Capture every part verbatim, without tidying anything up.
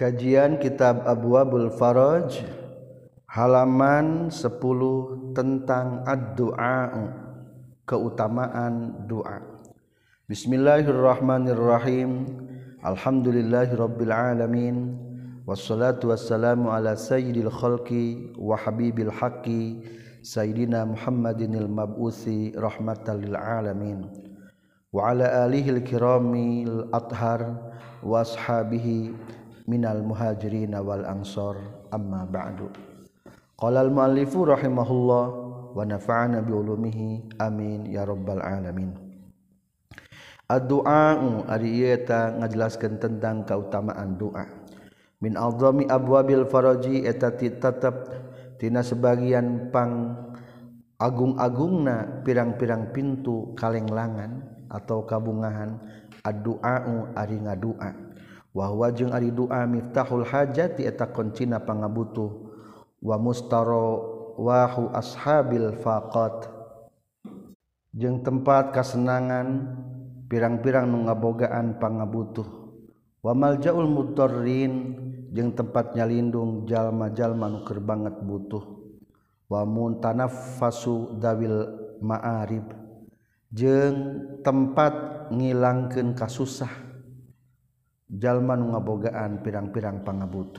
Kajian Kitab Abwabul Faraj halaman sepuluh tentang ad-du'a, keutamaan doa. Bismillahirrahmanirrahim. Alhamdulillahirabbil alamin. Wassalatu wassalamu ala sayyidil khalqi wa habibil haqqi sayyidina Muhammadinil mab'uthi rahmatan lil alamin. Wa ala alihil kiramil athhar wa ashabihi minal muhajirin wal ansor, amma ba'du. Qala al muallifu rahimahullah wa nafa'ana bi ulumihi amin ya rabbal alamin. Ad-du'a ari ieu eta ngajelaskeun tentang keutamaan doa. Min a'zami abwabil faraji eta tetep tina sebagian pang agung-agungna pirang-pirang pintu kalenglangan atau kabungahan ad-du'a ari ngadoa. Wa huwa jeung ari doa miftahul hajati eta kuncina pangabutuh wa mustarawahu ashabil faqat jeung tempat kasenangan pirang-pirang nu ngabogaan pangabutuh wa maljaul mudarrin jeung tempat nyalindung jalma-jalma nu keur banget butuh wa muntanaffasu dawil ma'arib jeung tempat ngilangkeun kasusah jalma nu ngabogaan pirang-pirang pangabutuh.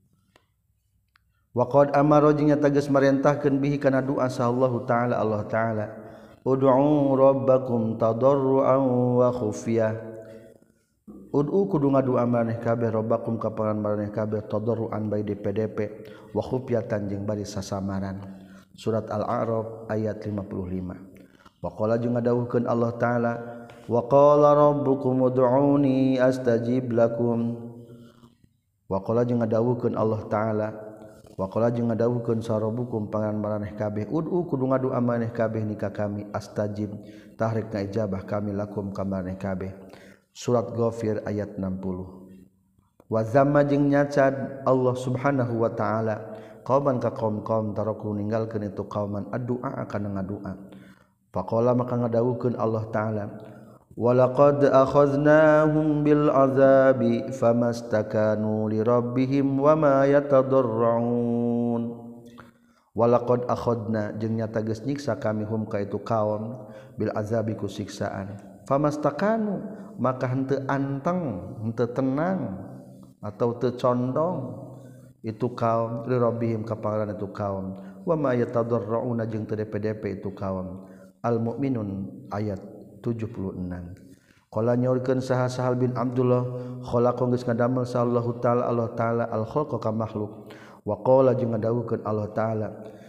Wa qad amara jeung nyata geus marentahkeun bihi kana doa sallallahu taala Allah taala ud'u rabbakum tadarruan wa khufyah. Ud'u kudu ngadoa maneh kabeh rabbakum ka pangan maneh kabeh tadarruan bae D P D P wa khufyatan jeung bari sasamaran. Surat Al-A'raf ayat lima puluh lima. Wa qala jeung ngadawuhkeun Allah taala wa qala rabbukum ud'uni astajib lakum. Wa qala jeung ngadawuhkeun Allah taala wa qala jeung ngadawuhkeun sarabukum pangan maraneh kabeh ud'u kudu ngadoa maneh kabeh nika kami astajib tahrek ngaijabah kami lakum ka maraneh kabeh. Surat Ghafir ayat enam puluh. Wa zamma jeung nyacad Allah subhanahu wa taala qauman ka qaum-qaum taraku ninggalkeun itu qauman ad-du'a kana ngadoa. Faqala maka ngadawuhkeun Allah taala walaqad akhadnahum bil azabi famastakanu li rabbihim wama yatadarrun. Walaqad akhadna jeung nyata geus nyiksa kami hum ka itu kaum bil azabi ku siksaan famastakanu maka henteu anteng henteu tenang atau teu condong itu kaum li rabbihim ka pangaran itu kaum wama yatadarrun jeung teu D P D P itu kaum. Al-Mu'minun ayat tujuh puluh enam. Qala nyaurkeun saha Sahal bin Abdullah khalaqa geus ngadamel sallallahu taala Allah taala al khalqa ka makhluk wa qala jeung ngadawuhkeun Allah taala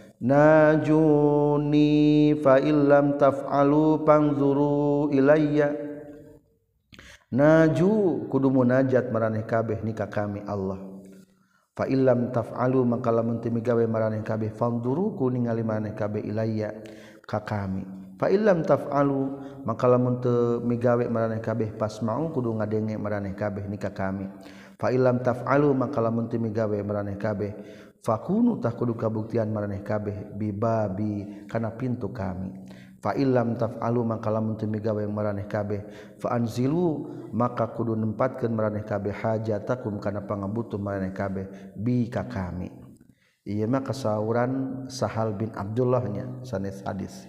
najuni fa illam taf'alu panzuru ilayya. Naju kudu munajat maraneh kabeh nika kami Allah. Fa illam taf'alu maka lamun teu migawe maraneh kabeh fanzuru ku ningali maraneh kabeh ilayya ka kami. Fa illam taf'alu maka lamun teu migawe maraneh kabeh pasma'u kudu ngadenge maraneh kabeh nika kami. Fa illam taf'alu maka lamun teu migawe maraneh kabeh fakunu tah kudu kabuktian maraneh kabeh bibabi kana pintu kami. Fa illam taf'alu maka lamun teu migawe maraneh kabeh fa anzilu maka kudu nempatkeun maraneh kabeh hajatakum kana pangabutuh maraneh kabeh bi ka kami. Ieu mah kasauran Sahal bin Abdullah nya sanes hadis.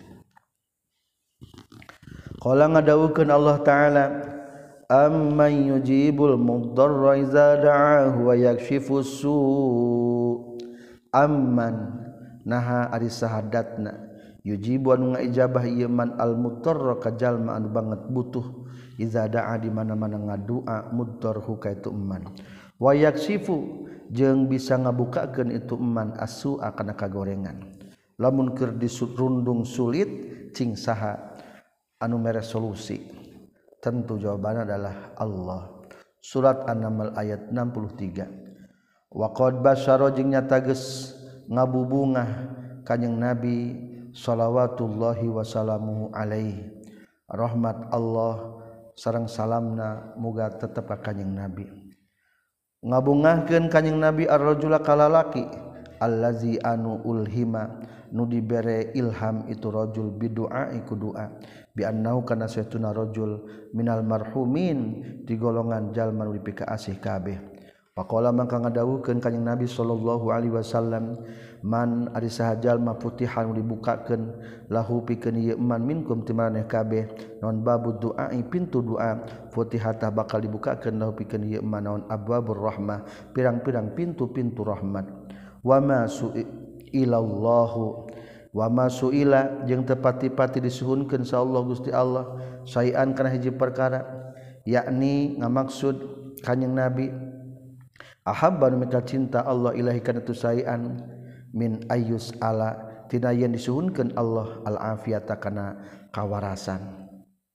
Qala ngadawuhkeun Allah taala amman yujibul mudarra iza da'ahu wa yakshifus su' amman naha ari sahadatna yujibu anu ngaijabah ieu man al mudarra ka jalma anu banget butuh iza da'a di mana-mana ngadua mudarhu ka itu eman wa yakshifu jeung bisa ngabukakeun itu eman as-su'a kana kagorengan lamun keur disrundung sulit cing saha anu mere solusi. Tentu jawabannya adalah Allah. Surat An-Naml ayat enam puluh tiga. Wa qad basyara jeung nyata geus ngabubungah kanjing Nabi shalawatullahi wasallamuhu alaihi. Rahmat Allah sareng salamna muga tetep ka kanjing Nabi. Ngabungahkeun kanjing Nabi ar-rajula kalalaki allazi anu ulhima nu dibere ilham itu rajul bidu'a iku doa bi annahu kana saytuna rajul minal marhumin di golongan jalma nu dipika asih kabeh Faqala mangka ngadawukeun kanjing Nabi sallallahu alaihi wasallam man ari saha jalma putihan dibukakeun lahu pikeun ieu man minkum ti maraneh kabeh naon babu du'a pintu doa futihata bakal dibukakeun lahu pikeun ieu man naon abwabur rahmah pirang-pirang pintu-pintu rahmat wa ma su'ilallahu wa ma su'ila jeung teu pati-pati disuhunkeun sa Allah Gusti Allah sayan kana hiji perkara yakni ngamaksud kanjing Nabi ahabba nu mika cinta Allah ilahi kana tu sayan min ayyus ala tina yen disuhunkeun Allah al afiyata kana kawarasan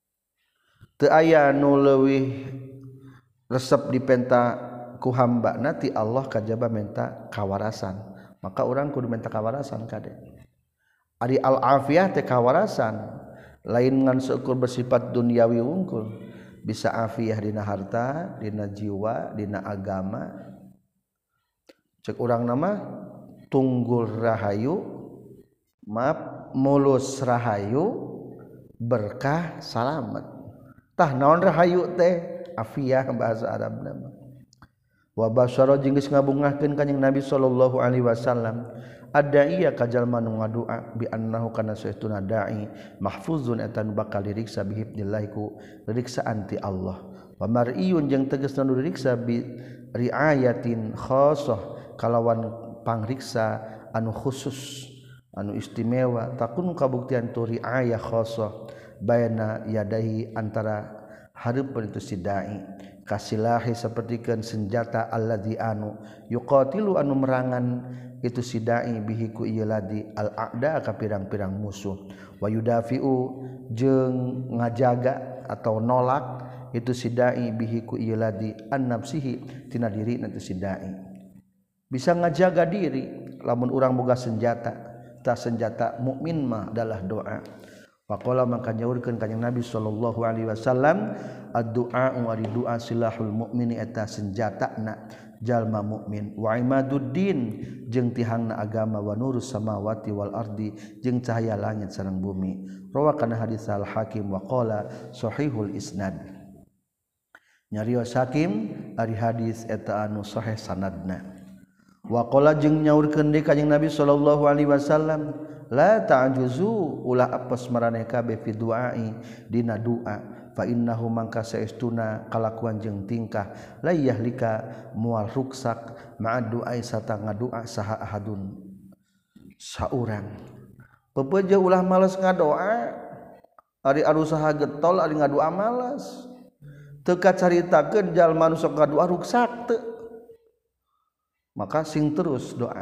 teu aya nu leuwih resep dipenta ku hamba nanti Allah kajaba menta kawarasan maka urang kudu menta kawarasan kade ari al afiyah teh kawarasan lain ngan seukur bersifat duniawi wungkul bisa afiyah dina harta dina jiwa dina agama cek urang nama tunggul rahayu maaf mulus rahayu berkah salamet tah naon rahayu teh afiyah bahasa Arab nama wa basyara jeung geus ngabungahkeun kanjing Nabi sallallahu alaihi wasallam ada iya kajalma nu ngadua bi annahu kana saestuna dai mahfuzun eta nu bakal diriksa bi hifdzillah ku riksaan ti Allah wa mar'iyun jeung tegasna nu diriksa bi riayatin khassah kalawan pangriksa anu khusus anu istimewa takun kabuktian tu riayah khassah baina yadahi antara hareupeun itu si dai kasilahi sapertikeun senjata alladzi anu yuqatilu anu merangan itu si dai bihi ku ieu ladi al a'da ka pirang-pirang musuh wa yudafiu jeung ngajaga atau nolak itu si dai bihi ku ieu ladi an nafsihi tina diri itu si dai bisa ngajaga diri lamun urang boga senjata ta senjata mukmin mah adalah doa faqala maka nyaurkeun kanjing Nabi sallallahu alaihi wasallam ad-du'a wa doa silahul mukmini eta senjatana jalma mukmin wa imaduddin jeung tihangna agama wa nurus samawati wal ardi jeung cahaya langit sareng bumi rawakan hadis al hakim wa qala sahihul isnad nyarios hakim ari hadis eta anu sahih sanadna wa qala jeung nyaurkeun deui kanjing Nabi sallallahu alaihi wasallam la ta'juzu ulah apes maraneh kabeh fi du'ai dina doa fa innahu mangka saestuna kalakuan jeung tingkah la yahlika mual ruksak ma'a du'ai sarta ngadoa saha ahadun saurang pepeje ulah males ngadoa ari arusaha getol ari ngadoa males teu kacaritakeun jalma nu sok ngadoa ruksak teu maka sing terus doa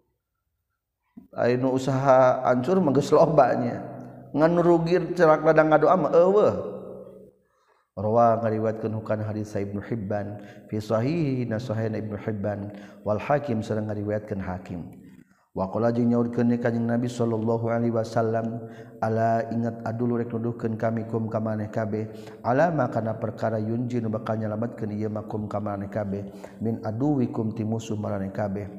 anu usaha hancur mah geus lobanya ngan rugi cerak ladang ngadoa mah eueuh rawa ngariwayatkeun hukana hadis Ibnu Hibban fi sahih na sahih Ibnu Hibban wal Hakim sareng ngariwayatkeun Hakim wa qala jeung nyaurkeun kanjing Nabi sallallahu alaihi wasallam ala ingat adulu rek nuduhkeun kami kum ka maneh kabeh ala makana perkara yunjin bakal nyalametkeun ieu makum ka maneh kabeh min aduwikum ti musuh maneh kabeh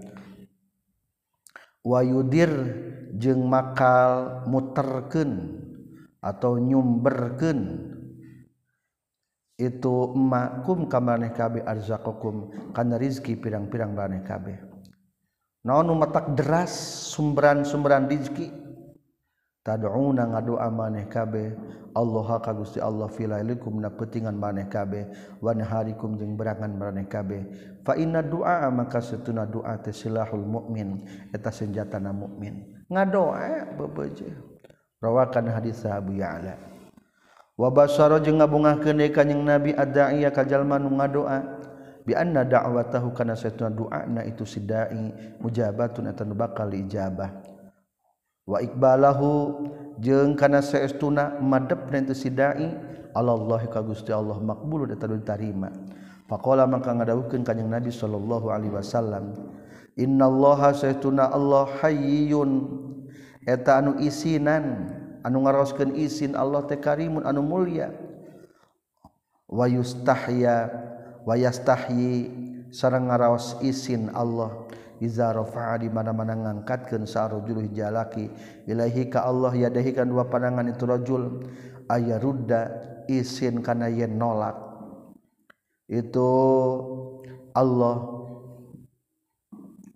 wa yudir jeung makal muterkeun atau nyumberkeun itu makum ka maneh kabeh arzaqakum kana rezeki pirang-pirang maneh kabeh naon nu matak deras sumberan-sumberan rezeki tad'una ngadoa maneh kabeh Allah ka Gusti Allah fi lailikum na peutingan maneh kabeh wa naharikum jeung berangan maneh kabeh fa inna du'a maka satuna doa teh silahul mukmin eta senjatana mukmin ngadoa bebeje rawakan hadis Abu Ya'la wa basara jeung ngabungahkeun deui kanjing Nabi ad-da'iya ka jalma nu ngadoa bi anna da'watahu kana satuna doana itu si dai mujabatun eta nu bakal ijabah wa iqbalahu jeung kana saestuna madepna itu si dai Allah ka Gusti Allah maqbulun eta ditarima faqala maka ngadawukeun kanjing Nabi sallallahu alaihi wasallam innallaha saestuna Allah hayyun eta anu isinan anu ngaraoskeun izin Allah teh karimun anu mulia wa yustahya wa yastahyi sareng ngaraos izin Allah iza rafa'a di mana-mana ngangkatkeun sarojul jalaki ilahi ka Allah yadahi kan dua pandangan itu rajul ayarudda izin kana yen nolak itu Allah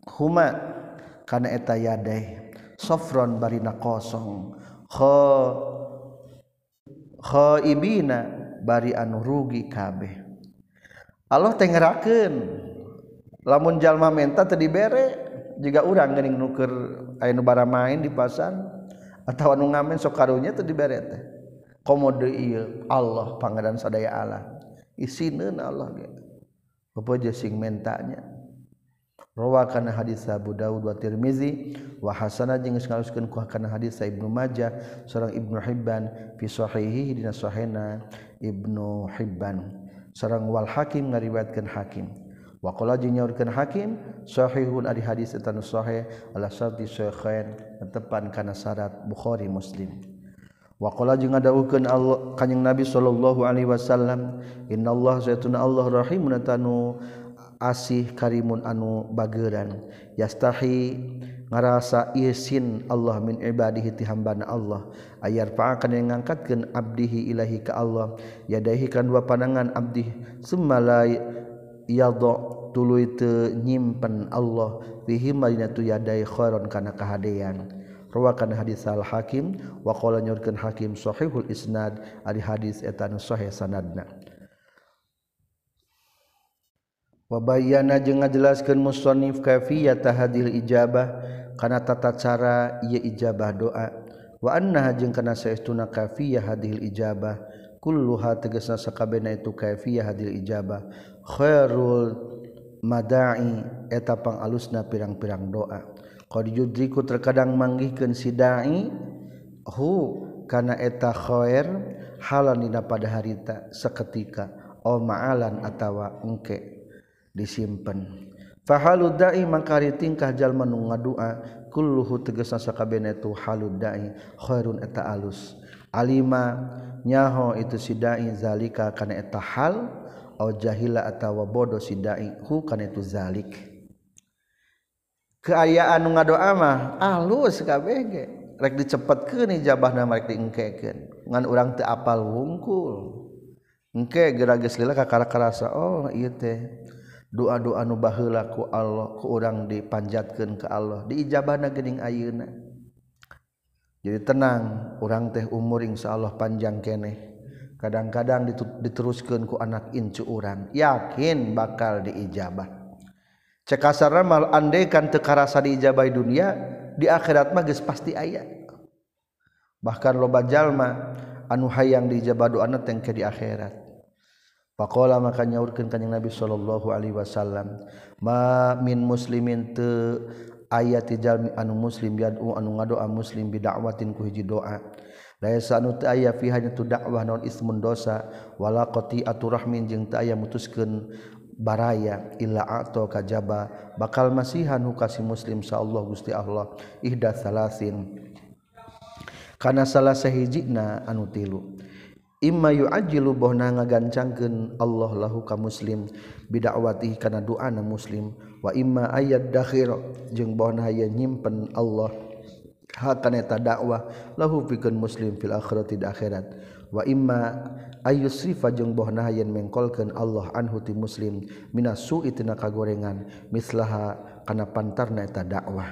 huma kana eta yadai sofron barina kosong kho khaibina bari anu rugi kabeh. Allah teh ngerakeun lamun jalma menta teu dibere jiga urang geuning nuker aya nu bara main di pasar atawa nu ngamen sok karunya teu dibere teh komo deui ieu Allah pangeran sadaya Allah isineun Allah ge bapak sing mentanya. Rawakan hadis Abu Daud wa Tirmizi wa hasanah jeung ngaluskeun ku kana hadis Ibnu Majah sareng Ibnu Hibban fi sahihihi dina sahihna Ibnu Hibban sareng wal Hakim ngariwayatkeun Hakim wa qala jeung nyaurkeun Hakim sahihun ari hadis eta nu sahih ala syarti syaikhain tepan kana syarat Bukhari Muslim. Wa qala jeung ngadawuhkeun Allah kanjing Nabi sallallahu alaihi wasallam innallaha zaituna Allah rahimun tanu asih karimun anu bageuran yastahi ngarasa izin Allah min ibadihi ti hambana Allah ayar fa'akan yang ngangkatkeun abdihi ilahi ka Allah yadahi kan dua pandangan abdi summa la yadha tuluy teu nyimpen Allah fihi madinatu yadai khairon kana kahadean. Rawakan hadis al Hakim wa qala nyurkeun Hakim sahihul isnad ari hadis eta nu sahih sanadna. Wa bayyana jeung ngajelaskeun musannif kafiyat hadil ijabah kana tata cara ieu ijabah doa wa annaha jeung kana saestuna kafiyah hadil ijabah kulluha tegasna sakabehna itu kafiyah hadil ijabah khairul mada'i eta pangalusna pirang-pirang doa qad yudriku terkadang manggihkeun si dai hu kana eta khair halan dina pada harita saketika au ma'alan atawa engke disimpen fahalud da'i mangkari tingkah jalma nu ngadua kulluhu tegasna sakabehna tu halud da'i khairun eta alus alima nyaho itu si da'i zalika kana eta hal au jahila atawa bodoh si da'i hu kana itu zalik keayaan nu ngadoa mah alus kabeh ge rek dicepetkeun ijabahna rek diengkekeun ngan urang teu apal wungkul engke geura geus lila kakara-karasa oh ieu teh doa-doa nu baheula ku Allah ku urang dipanjatkeun ka Allah diijabahna geuning ayeuna jadi tenang urang teh umur insyaallah panjang keneh kadang-kadang diteruskeun ku anak incu urang yakin bakal diijabah cek kasarna mal andaikan teu karasa diijabah di dunia di akhirat mah geus pasti aya bahkan loba jalma anu hayang diijabah doana teh ke di akhirat. Faqala maka nyaurkeun kanjing Nabi sallallahu alaihi wasallam ma min muslimin teu aya ti jalmi anu muslim yad'u anu ngadoa muslim bida'watin ku hiji doa laisa anu teu aya fi hanya tu dakwah naon ismun dosa wala qati'atu rahmin jeung teu aya mutuskeun baraya illa a'ta kajaba bakal masihan hukasi muslim saallahu Gusti Allah ihda salasin kana salah sahijina anu tilu imma yu'ajjilu bohna ngagancangkeun Allah lahu ka muslim bidakwatihi kana doana muslim wa imma ayat dakhir jeung bohna aya nyimpen Allah hakana eta dakwah lahu pikeun muslim fil akhirati di akhirat wa imma ayusrifa jeung bohna aya mengkolkeun Allah anhu ti muslim minas su'i tina kagorengan mislaha kana pantarna eta dakwah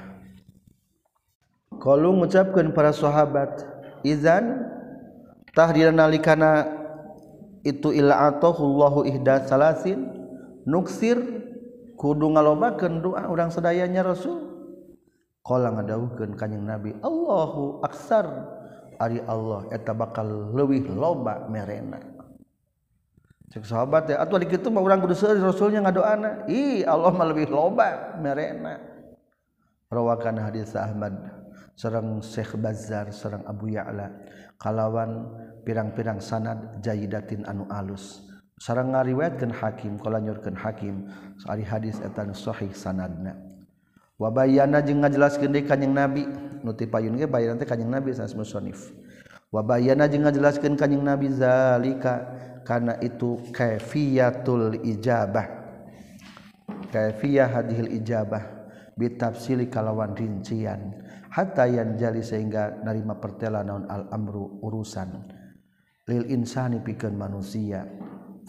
qalu ngucapkeun para sahabat izan tahdira nalikana itu illa atahullahu ihda salasin nuksir kudu ngalobakeun doa urang sadayanya Rasul qala ngadawuhkeun kanjing Nabi Allahu aksar ari Allah eta bakal leuwih loba merena cek sahabat teh atuh kitu mah urang kudu seueur Rasulnya ngadoana ih Allah mah leuwih loba merena rawakan hadis Ahmad sareng Syekh Bazzar sareng Abu Ya'la kalawan pirang-pirang sanad jayidatin anu alus sareng ngariwayatkeun Hakim kala nyurkeun Hakim ari hadis eta nu sahih sanadna wa bayyana jeung ngajelaskeun deui kanjing Nabi nu ti payun ge bayan teh kanjing Nabi sanes musannif wa bayyana jeung ngajelaskeun kanjing Nabi zalika kana itu kaifiyatul ijabah kaifiyah hadhil ijabah bitafsili kalawan rincian hatta yanjali sehingga narima pertela naon al amru urusan lil insani pikeun manusia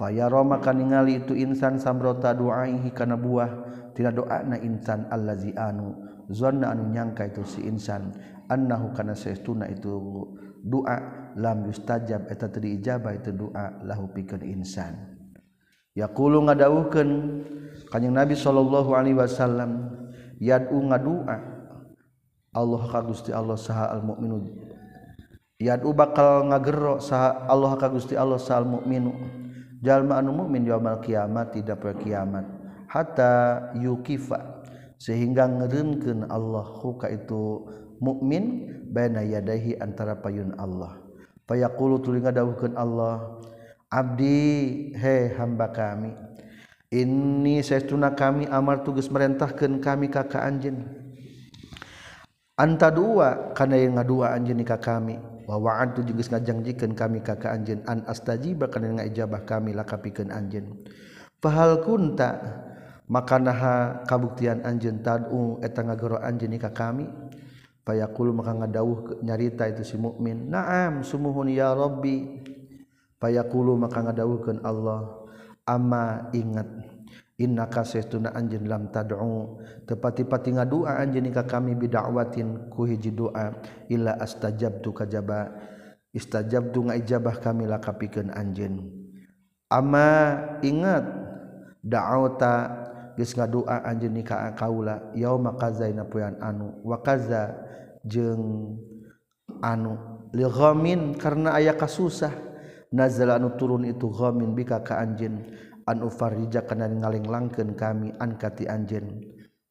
fayara maka ningali itu insan samrota du'aihi kana buah tina doana insan allazi anu zanna anu nyangka itu si insan annahu kana saestuna itu doa lam yustajab eta teu diijabah itu doa lahu pikeun insan yaqulu ngadawuhkeun kanjing Nabi sallallahu alaihi wasallam yad'u ngadua Allah ka Gusti Allah saha al mukminu yad'u bakal ngagero saha Allah ka Gusti Allah saha al mukminu jalma anu mukmin yaumul kiamat tidak pada kiamat hatta yukifa sehingga ngeureunkeun Allah ka itu mukmin baina yadaihi antara payun Allah fayaqulu tuluy ngadawuhkeun Allah abdi he hamba kami inni saestuna kami amar tugas merentahkeun kami ka ka anjeun anta dua kana yang ngadua anjeun ka kami wa wa'antu jeung geus ngajangjikeun kami ka ka anjeun an astajiba kana ngaijabah kami laka pikeun anjeun fahal kunta maka naha kabuktian anjeun tad'u eta ngagero anjeun ka kami fayaqulu maka ngadawuh nyarita itu si mukmin na'am sumuhun ya rabbi fayaqulu maka ngadawuhkeun Allah amma ingat innaka saestuna anjeun lam tad'u tepati-pati ngadua anjeun ka kami bida'watin ku hiji doa illa astajabtu kajaba istajabtu ngaijabah kami laka pikeun anjeun amma ingat da'auta geus ngadua anjeun ka kaula yauma kaza dina poean anu wa kaza jeung anu li ghamin karna aya kasusah nazala anu turun itu ghamin bika ka anjeun an ufarija kana ngalenglangkeun kami an kati anjeun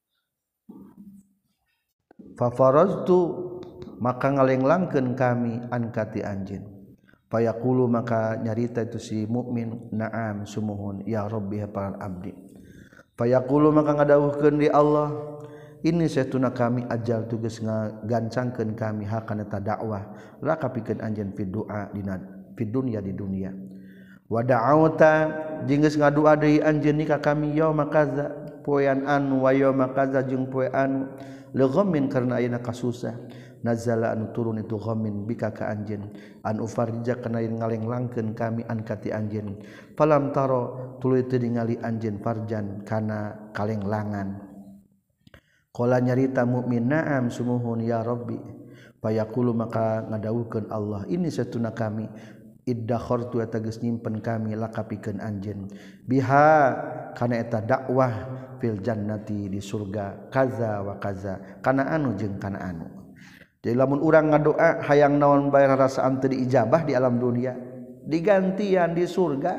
fa faraztu maka ngalenglangkeun kami an kati anjeun fayaqulu maka nyarita itu si mukmin na'am sumuhun ya rabbi hapal abdi fayaqulu maka ngadawuhkeun di Allah ini saestuna kami ajal tugas ngagancangkeun kami hakana ta dakwah la kapikeun anjeun fi doa dina fi dunya di dunia wa da'auta jeung geus ngadua deui anjeun ka kami yauma kaza poean anu wa yauma kaza jeung poe anu li ghammin karna ayeuna kasusah nazala anu turun itu ghammin bika ka anjeun an ufarija kana ngalenglangkeun kami an kati anjeun falam taro tuluy teu ningali anjeun farjan kana kalenglangan qala nyarita mukmin na'am sumuhun ya rabbi fayaqulu maka ngadawuhkeun Allah ini satuna kami iddakhartu eta geus nyimpen kami laka pikeun anjeun biha kana eta dakwah fil jannati di surga kaza wa kaza kana anu jeung kana anu jadi lamun urang ngadoa hayang naon bae rarasaan teu diijabah di alam dunia digantian di surga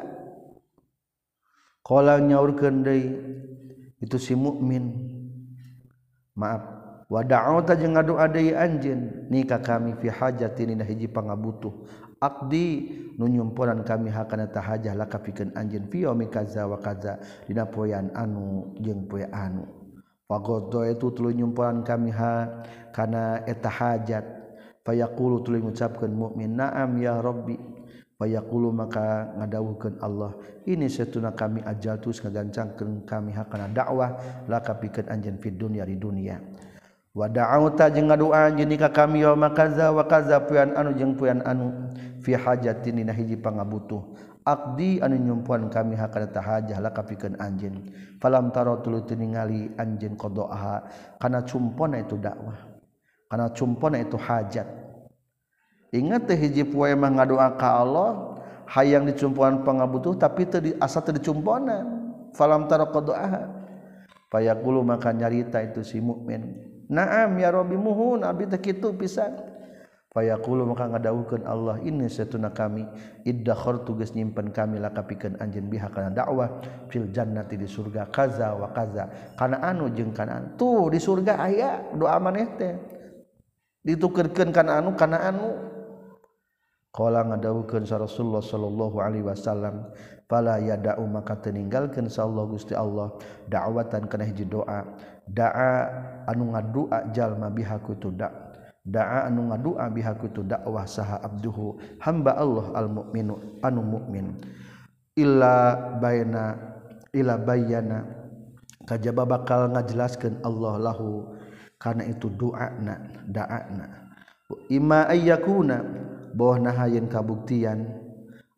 qala nyaurkeun deui itu si mukmin maaf wa da'auta jeung ngadoa deui anjeun ni ka kami fi hajatin dina hiji pangabutuh aqdi nu nyumpuran kami hakana ta hajah laka pikeun anjeun fi yaumi kaza wa kaza dina poean anu jeung poe anu fagoddo itu tuluy nyumpuran kami ha kana eta hajat fayaqulu tuluy ngucapkeun mukmin na'am ya rabbi fayaqulu maka ngadawuhkeun Allah ini satuna kami ajal tus ngagancangkeun kami hakana dakwah laka pikeun anjeun fi dunya di dunia wa da'auta jeung ngadua anjeun ka kami yauma kaza wa kaza poean anu jeung poean anu fi hajatin dina hiji pangabutuh aqdi anu nyumpuan kami hakana ta hajah laka pikeun anjeun falam taro tuluy teu ningali anjeun qadaaha kana cumpona itu dakwah kana cumpona itu hajat ingat teh hiji poe mah ngadoa ka Allah hayang dicumpuan pangabutuh tapi teu asa teu dicumponan falam taro qadaaha fayaqulu maka nyarita itu si mukmin na'am ya rabbi muhun abdi teh kitu pisan fayaqulu maka ngadawuhkeun Allah ini satuna kami iddakhartu geus nyimpen kami laka pikeun anjeun biha kana dakwah fil jannati di surga kaza wa kaza kana anu jeung kana anu tuh di surga aya doa maneh teh ditukeurkeun kana anu kana anu qala ngadawuhkeun sa Rasulullah sallallahu alaihi wasallam fala yada'u maka teu ninggalkeun sa Allah Gusti Allah da'watan kana hiji doa da'a anu ngadua jalma biha kutu da da'a anu ngadua biha kutu dakwah saha abduhu hamba Allah al mukminu anu mukmin illa baina ila bayyana kajaba bakal ngajelaskeun Allah lahu kana itu doana da'ana imma ayyakuna bahwa nahayeun kabuktian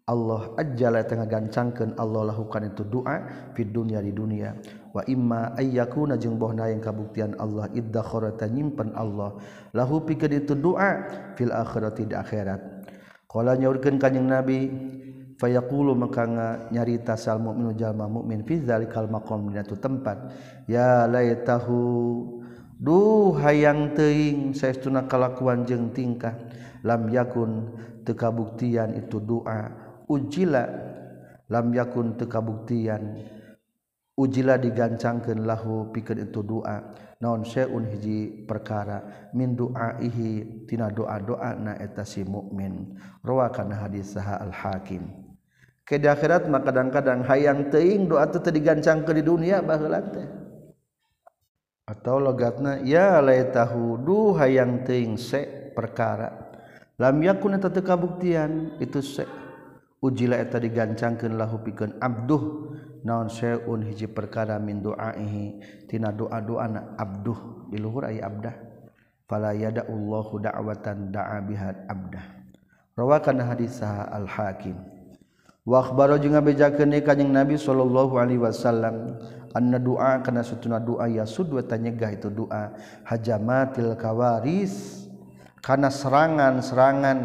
Allah ajjala tengah gancangkeun Allah lakukan itu doa di dunia di dunia wa imma ayyakuna jeung bohna yang kabuktian Allah iddakharata nyimpen Allah lahu pikeun itu doa fil akhirati di akhirat qala nyaurkeun kanjing Nabi fayaqulu maka nyarita sal mukminu jalma mukmin fi zalikal maqam dina tu tempat ya laitahu duh hayang teuing saestuna kalakuan jeung tingkah lam yakun teu kabuktian itu doa ujila lam yakun teu kabuktian ujila digancangkeun lahu pikeun itu doa naon syai'un hiji perkara min du'aihi tina doa-doana eta si mukmin rawakan hadis saha al hakim ke di akhirat mah kadang-kadang hayang teuing doa teh digancangkeun di dunia baheula teh atau logatna ya laitahu du hayang teuing se perkara lam yakun eta teu kabuktian itu se ujila eta digancangkeun lahu pikeun abduh naon syai'un hiji perkara min du'aihi tina doa-doana abduh di luhur aya abdah fala yada'ullahu da'watan da'a biha abdah rawakan hadis al hakim wa akhbaro jeung ngabejakeun kanjing Nabi sallallahu alaihi wasallam anna du'a kana satuna doa yasud wa tanyegah itu doa hajamatil kawaris kana serangan-serangan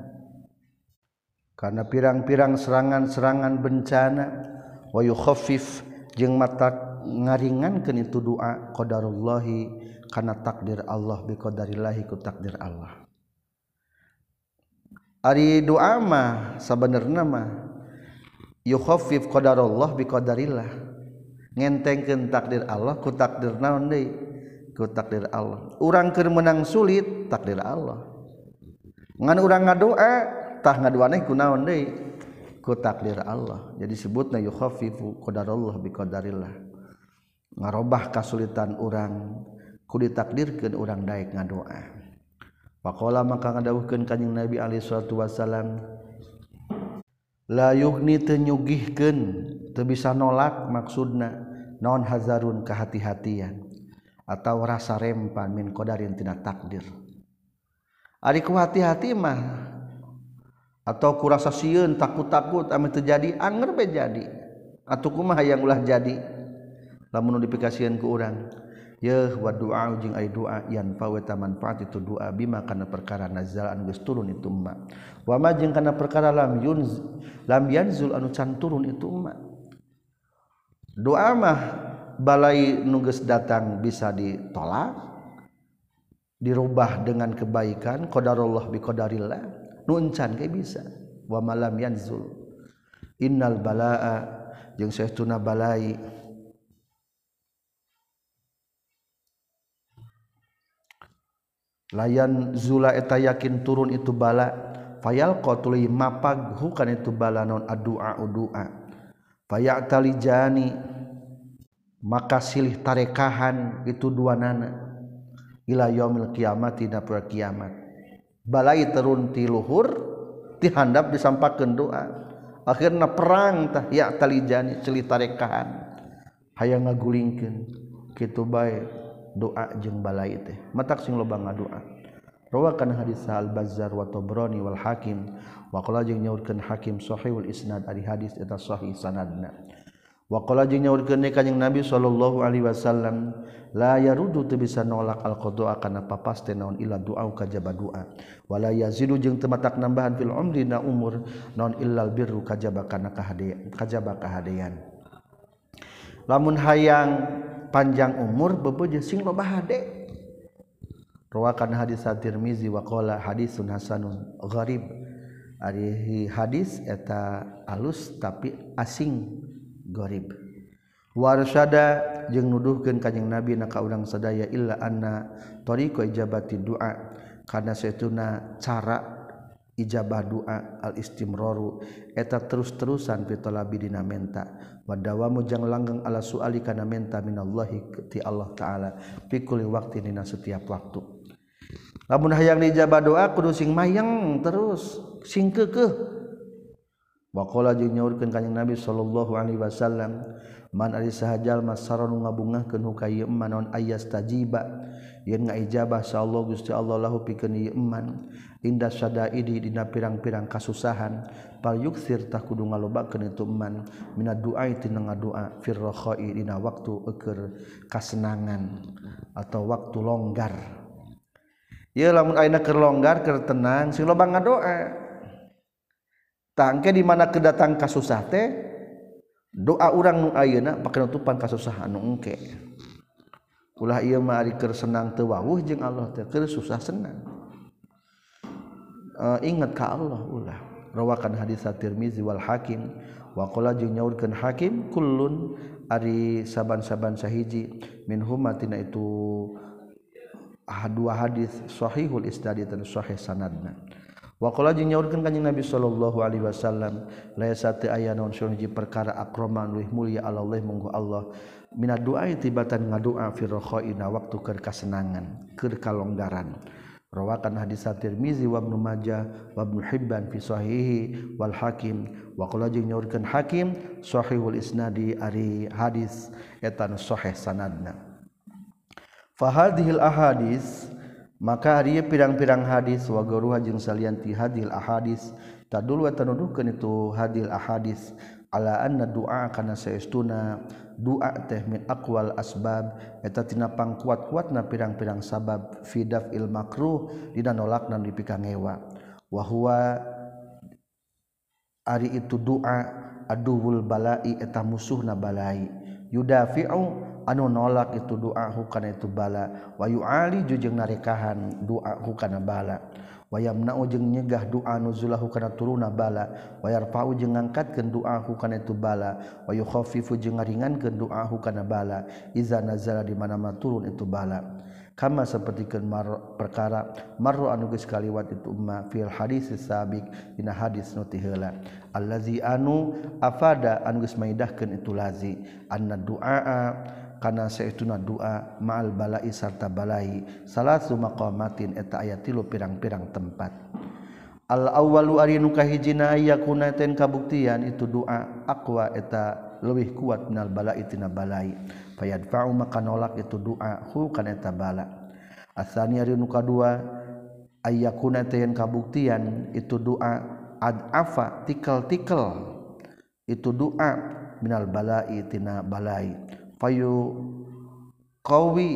karena pirang-pirang serangan-serangan bencana wa yukhaffif jeung mata ngaringankeun itu doa qadarullahi kana takdir Allah bi qadarillahi ku takdir Allah ari doa mah sabenerna mah yukhaffif qadarullah bi qadarillah ngentengkeun takdir Allah ku takdir naon deui ku takdir Allah urang keur menang sulit takdir Allah ngan urang ngadoa tah ngaduaneh ku naon deui ku takdir Allah jadi sebutna yukhaffifu qadarullah bi qadarillah ngarobah kasulitan urang ku ditakdirkeun urang daek ngadoa faqala maka ngadawuhkeun kanjing Nabi alaihi salatu wasalam la yughni teu nyugihkeun teu bisa nolak maksudna naon hazarun kehati-hatian atau rasa rempan min qadarin tina takdir ari ku hati-hati mah atau kurasa sieun takut-takut ame teu jadi anger be jadi atuh kumaha hayang ulah jadi lamun dipikasieun ku urang ya wa du'a jeung ai doa yan fa wa manfaat itu doa bima kana perkara nazal anu geus turun itu umma wa ma jeung kana perkara lam yunz lam yanzul anu can turun itu umma doa mah balai nu geus datang bisa ditolak dirubah dengan kebaikan qadarullah bi qadarillah nu encan ge bisa wa malam yanzul innal balaa jeung saestuna balai layan zula eta yakin turun itu bala fayal qatuli mapag hukan itu bala non addu'a udua fayatalijani maka silih tarekahan itu duanana ila yaumil qiyamati na per kiamat balai turun ti luhur ti handap disampakeun doa akhirna perang tah ya talijani silih tarekahan hayang ngagulingkeun kitu bae doa jeung balai teh matak sing loba ngadoa rawakan hadis al Bazzar wa Tabrani wal Hakim wa qala jeung nyaurkeun Hakim sahihul isnad ari hadis eta sahih sanadna wa qala jeung nyaurkeun kanjing Nabi sallallahu alaihi wasallam la yarudu teu bisa nolak al qada kana papaste naon illa doa kajaba doa wala yazidu jeung teu matak nambahan fil umri na umur naon illal birru kajaba kana kahadean kajaba kahadean lamun hayang panjang umur bebeuje sing loba hade rawakan hadis at-Tirmizi wa qala hadisun hasanun gharib ari hadis eta alus tapi asing gharib warsyada jeung nuduhkeun kanjing Nabi na ka urang sadaya illa anna tariqa ijabati du'a kana saestuna cara ijabah doa al istimraru eta terus-terusan fi talabi dina menta wa dawamu jang langgeng ala suali kana menta minallahi ti Allah taala fi kulli waqtin dina setiap waktu lamun hayang dijabah doa kudu sing mayang terus sing keukeuh Waqala jeung nyaurkeun kanjing Nabi sallallahu alaihi wasallam man ari sahajal masaron ngabungahkeun hu ka ieu eman naon ayas tajiba yen ngaijabah sa Allah Gusti Allah lahu pikeun ieu eman inda syadaidi dina pirang-pirang kasusahan pal yuksir tah kudu ngalobakeun itu eman minad du'a tina ngadoa fir rakhai dina waktu eukeur kasenangan atau waktu longgar. Ieu lamun ayeuna keur longgar keur tenang sing loba ngadoa. Tangke di mana kedatang kasusah teh doa urang nu ayeuna pake nutupan kasusahan nu engke. Ulah ieu mah ari keur senang teu wawuh jeung Allah teh keur susah senang. Uh, ingat ka Allah ulah. Rawakan hadis At-Tirmizi wal Hakim wa qala jeung nyaurkeun Hakim kullun ari saban-saban sahiji minhum tina itu dua hadis sahihul isnad dan sahih sanadna. Wa qala jeung nyaurkeun kanjing Nabi sallallahu alaihi wasallam laisa ta aya naon hiji perkara akraman luih mulia Allah munggu Allah minad du'a tibatan ngadoa fi rakhaina waktu keur kasenangan keur kalonggaran. Rawakan hadis At-Tirmizi wa Ibnu Majah wa Ibnu Hibban fi sahihi wal Hakim wa qala jeung nyaurkeun Hakim sahihul isnadi ari hadis eta sahih sanadna. Fa hadhil ahadits maka ari pirang-pirang hadis wa garuha jeung salianti hadil ahadis tadul wa tanuduhkeun itu hadil ahadis ala anna du'a kana saestuna du'a teh min aqwal asbab eta tina pangkuat-kuatna pirang-pirang sabab fi daf'il makruh dina nolakna dipikangewa wa huwa ari itu du'a aduwul balai eta musuhna balai yudafi'u anu nolak itu doa hukana itu bala wa yu'ali jeung narekahan doa hukana bala wa yamna'u jeung nyegah doa nuzulahu kana turuna bala wa yarfa'u jeung ngangkatkeun doa hukana itu bala wa yukhaffifu jeung ngaringankeun doa hukana bala iza nazala di mana-mana turun itu bala kama sapertikeun mar perkara marru anu geus kaliwat itu umma fil hadis sabiq dina hadis nu ti heula allazi anu afada anu geus maidahkeun itu lazi anna du'a kana saestuna doa ma'al balai sarta balai salasu maqamatin eta aya tilu pirang-pirang tempat. Al awwalu ari nu kahijina ayakuna ten kabuktian itu doa aqwa eta leuwih kuat minal balai tina balai fayadfa'u maka nolak itu doa hu kana eta bala. Asani ari nu kadua ayakuna ten kabuktian itu doa adafa tikel-tikel itu doa minal balai tina balai fayu qawi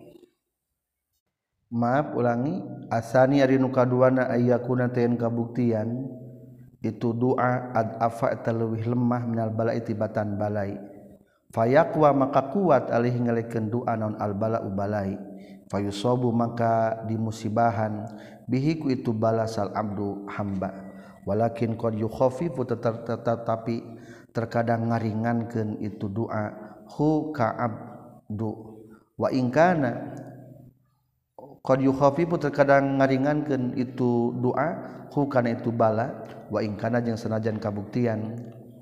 maaf ulangi asani ari nu kaduana ayyakuna tayen kabuktian itu doa adafa eta leuwih lemah minal balai tibatan balai fayaqwa maka kuat alih ngalekeun doa naon al bala'u balai fayusabu maka dimusibahan bihi ku itu balasal abdu hamba walakin qad yukhaffifu tetapi terkadang ngaringankeun itu doa hu ka'abdu wa in kana qad yukhafifu terkadang ngaringankeun itu doa hu kana itu bala wa in kana jeung sanajan kabuktian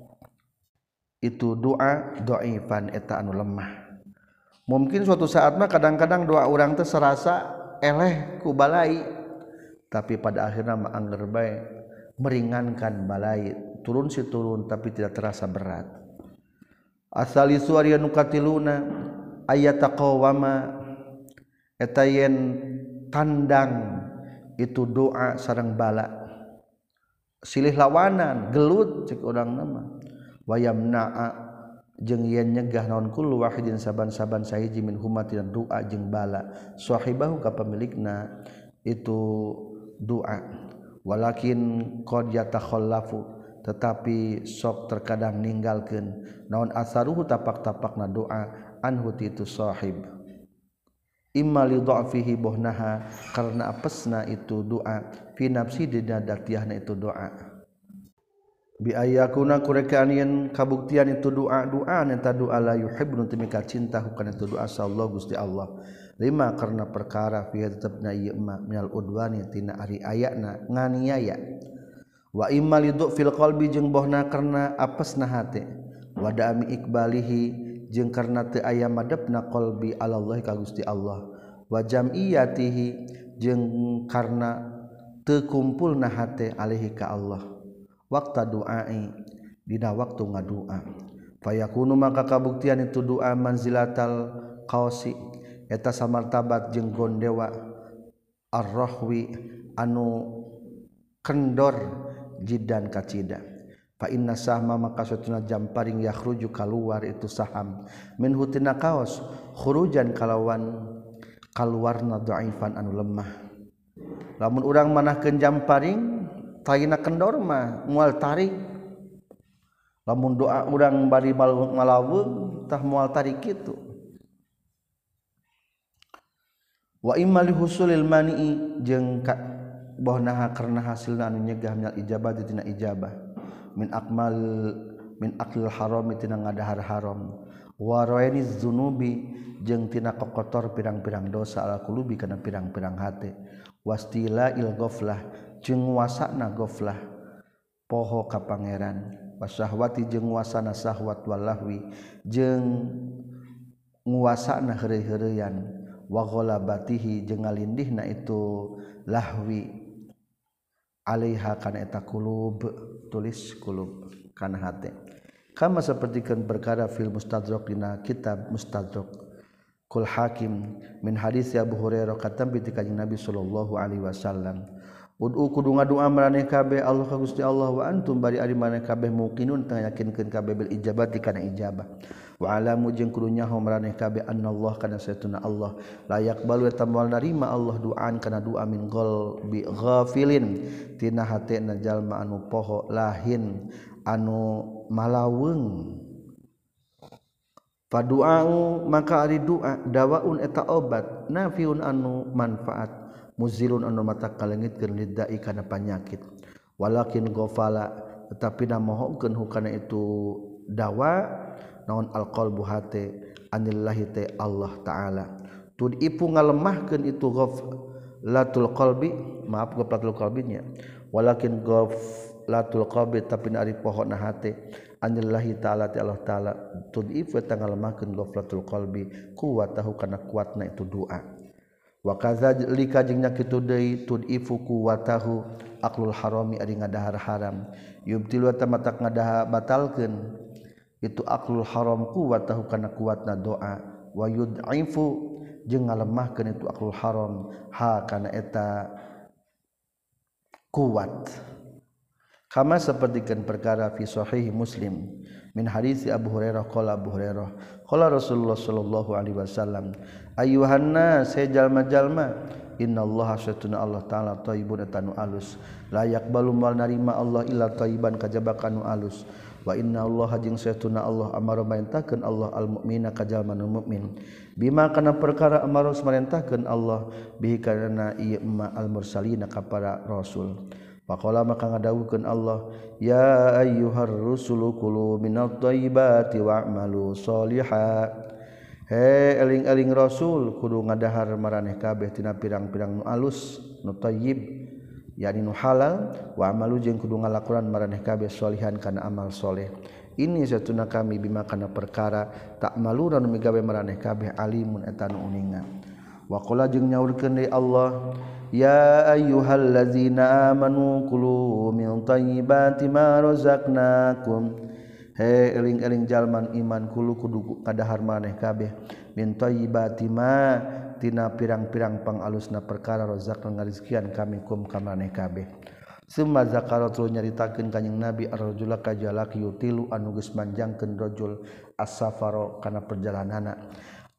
itu doa dhaifan eta anu lemah mungkin suatu saat mah kadang-kadang doa urang teh serasa eleh ku balai tapi pada akhirna mah angger bae meringankan balai turun si turun tapi tidak terasa berat. Asali suari anu katiluna ayataqawama eta yen tandang itu doa sareng bala silih lawanan gelut cek urang nama wayamna'a jeung yen nyegah naon kullu wahidin saban-saban sahiji min humatina doa jeung bala sahibahu ka pemilikna itu doa walakin qad yatakhallafu tetapi sok terkadang ninggalkeun naon asaruhu tapak-tapakna doa anhu itu sahib imma li dha'fihi bohnaha karena apesna itu doa fi nafsi dina datiahna itu doa bi ayakuna kurekaan yen kabuktian itu doa doa eta doa la yuhibbu timika cinta hukana itu doa sallallahu Gusti Allah lima karena perkara fi tetepna ieu ma minal udwani tina ari ayana nganiaya wa imma lidu fil qalbi jeung bohna karna apesna hate wa dami iqbalihi jeung karna teu aya madepna qalbi Allah ka Gusti Allah wa jam'iyatihi jeung karna teu kumpulna hate alaihi ka Allah waktu du'ai dina waktu ngadua fayakunu maka kabuktian itu doa manzilatal qausi eta samartabat jeung gondewa ar-rahwi anu kendor jiddan kacida fa inna sahma maka satuna jamparing yakhruju kaluar itu saham min hutina kaos khurujan kalawan kaluarna dhaifan anu lemah lamun urang manahkeun jamparing tayina kendor mah moal tarik lamun doa urang bari malaweung tah moal tarik kitu wa imma li husulil mani'i jeung bohnaha karena hasilna anu nyegah minal ijabah tina ijabah min akmal min aklil haram tina ngadahar haram wa rainiz dzunubi jeung tina kokotor pirang-pirang dosa ala qulubi kana pirang-pirang hate wastila il ghaflah jeung wasana ghaflah poho ka pangeran wasyahwati jeung wasana syahwat walahwi jeung nguasana heureuy-heureuyan wa ghalabatihi jeung ngalindihna itu lahwi alaiha kana eta qulub tulis qulub kana hate kama sapertikeun perkara fil mustadrak dina kitab mustadrak kul hakim min hadis Abu Hurairah katam bi kanjing Nabi sallallahu alaihi wasallam ud'u kudu ngadua maraneh kabeh Allah ka Gusti Allah wa antum bari ari maraneh kabeh muqinun tang yakinkeun kabeh bil ijabati kana ijabah wa alamu jeung kudu nyaho maraneh kabeh annallah kana satuna Allah la yaqbalu tamal narima Allah du'an kana du'a min qalbi ghafilin tina hatena jalma anu poho lahin anu malaweung fadu'u maka ari du'a dawaun eta obat nafiun anu manfaat muzilun anu mata kalengitkeun lidai kana panyakit walakin ghafala tetapi na mohokeun hukana itu dawa naon alqalbu hate anillahi ta Allah taala tudipu ngalemahkeun itu ghaflatul qalbi maaf ghaflatul qalbinya walakin ghaflatul qalbi tapi ari pohona hate anillahi taala ta Allah taala tudipu ta ngalemahkeun ghaflatul qalbi kuwatahu kana kuatna itu doa wa kadzalika jeung nya kitu deui tudifu kuwatahu aqlul harami ari ngadahar haram yubtilu ta matak ngadaha batalkeun itu aqlul haram kuwatahu kana kuatna doa wa yud'ifu jeung ngalemahkeun itu aqlul haram ha kana eta kuat kama sapertikeun perkara fi sahih Muslim min hadis Abu Hurairah qala Abu Hurairah qala Rasulullah sallallahu alaihi wasallam ayyuhan nas jalma-jalma innallaha satuna Allah taala thayyibun atanu alus la yaqbalu mal narima Allah illa thayyiban kajaba kanu alus wa inna Allah jeung satuna Allah amara marintahkeun Allah al mukmina ka jalma nu mukmin bima kana perkara amara marintahkeun Allah bihi kana ieu ma al mursalina ka para rasul faqala maka ngadawukeun Allah ya ayyuhar rusulu kulu minat thayyibati wa'malu sholihan he eling-eling rasul kudu ngadahar maraneh kabeh tina pirang-pirang nu alus nu thayyib yakni nu halal wa amalu jeung kudu ngalakuran maraneh kabeh sholihan kana amal soleh ini satuna kami bima kana perkara tak maluna nu migawe maraneh kabeh alimun eta nu uningan wa qala jeung nyaurkeun deui Allah ya ayyuhallazina amanu kulu min thayyibati ma razaqnakum he eling-eling jalman iman kulu kudu kadahar maneh kabeh min thayyibati ma tina pirang-pirang pangalusna perkara razaqna ngarizkian kami kum ka maneh kabeh summa zakaratul nyaritakeun kanjing Nabi ar-rajula ka jalaki yutilu anu geus manjangkeun rajul as-safaro kana perjalanana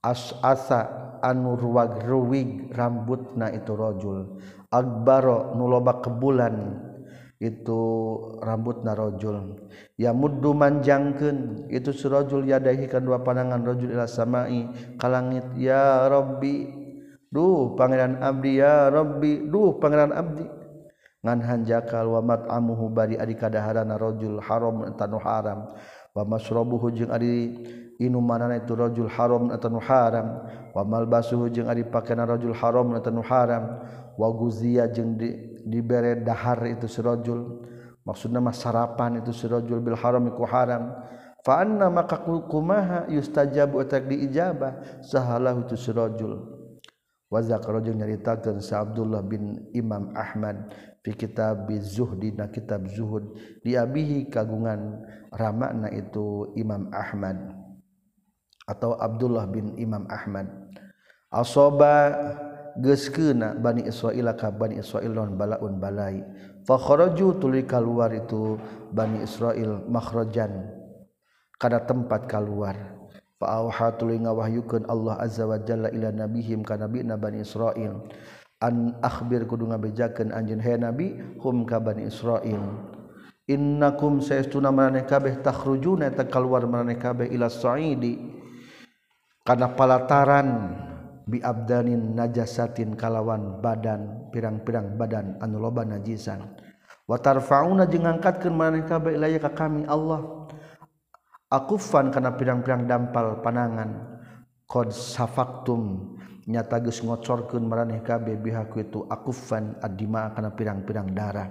as-asa anu ruwag-ruwig rambutna itu rajul akbaro nu loba kebulan itu rambutna rajul ya muddu manjangkeun itu si rajul yadahi kan dua pandangan rajul ila samai ka langit ya rabbi duh pangeran abdi ya rabbi duh pangeran abdi ngan hanjakal wa mat'amuhu bari ari kadaharana rajul haram tanu haram wa masrabuhu jeung ari inumanana itu rajul haram atau haram wa malbasuhu jeung ari pakaian rajul haram atau haram wa guziya jeung di, dibere dahar itu si rajul maksudna mah sarapan itu si rajul bil haram iku haram fa anna maka kumaha yustajabu atak diijabah sahalahu itu si rajul wa zakara jeung nyaritakeun sa Abdullah bin Imam Ahmad fi kitab zuhdi na kitab zuhud diabihi kagungan ramakna itu Imam Ahmad atau Abdullah bin Imam Ahmad asoba geuskeuna Bani Israil ka Bani Israil non balaun balai fa kharaju tuluy kaluar itu Bani Israil makhrajan kana tempat kaluar fa auha tuluy ngawahyukeun Allah azza wa jalla ila nabihim ka nabina Bani Israil an akhbir kudu ngabejakeun anjeun he nabi hum ka Bani Israil innakum saestuna maneh kabeh takhrujuna ta kaluar maneh kabeh ila sa'idi kana palataran bi abdanin najasatin kalawan badan pirang-pirang badan anu loba najisan wa tarfauna jeung ngangkatkeun maneh kabeh ilaya ka kami Allah akufan kana pirang-pirang dampal panangan qad safaktum nyata geus ngocorkeun maraneh kabeh biha ku itu akufan adima kana pirang-pirang darah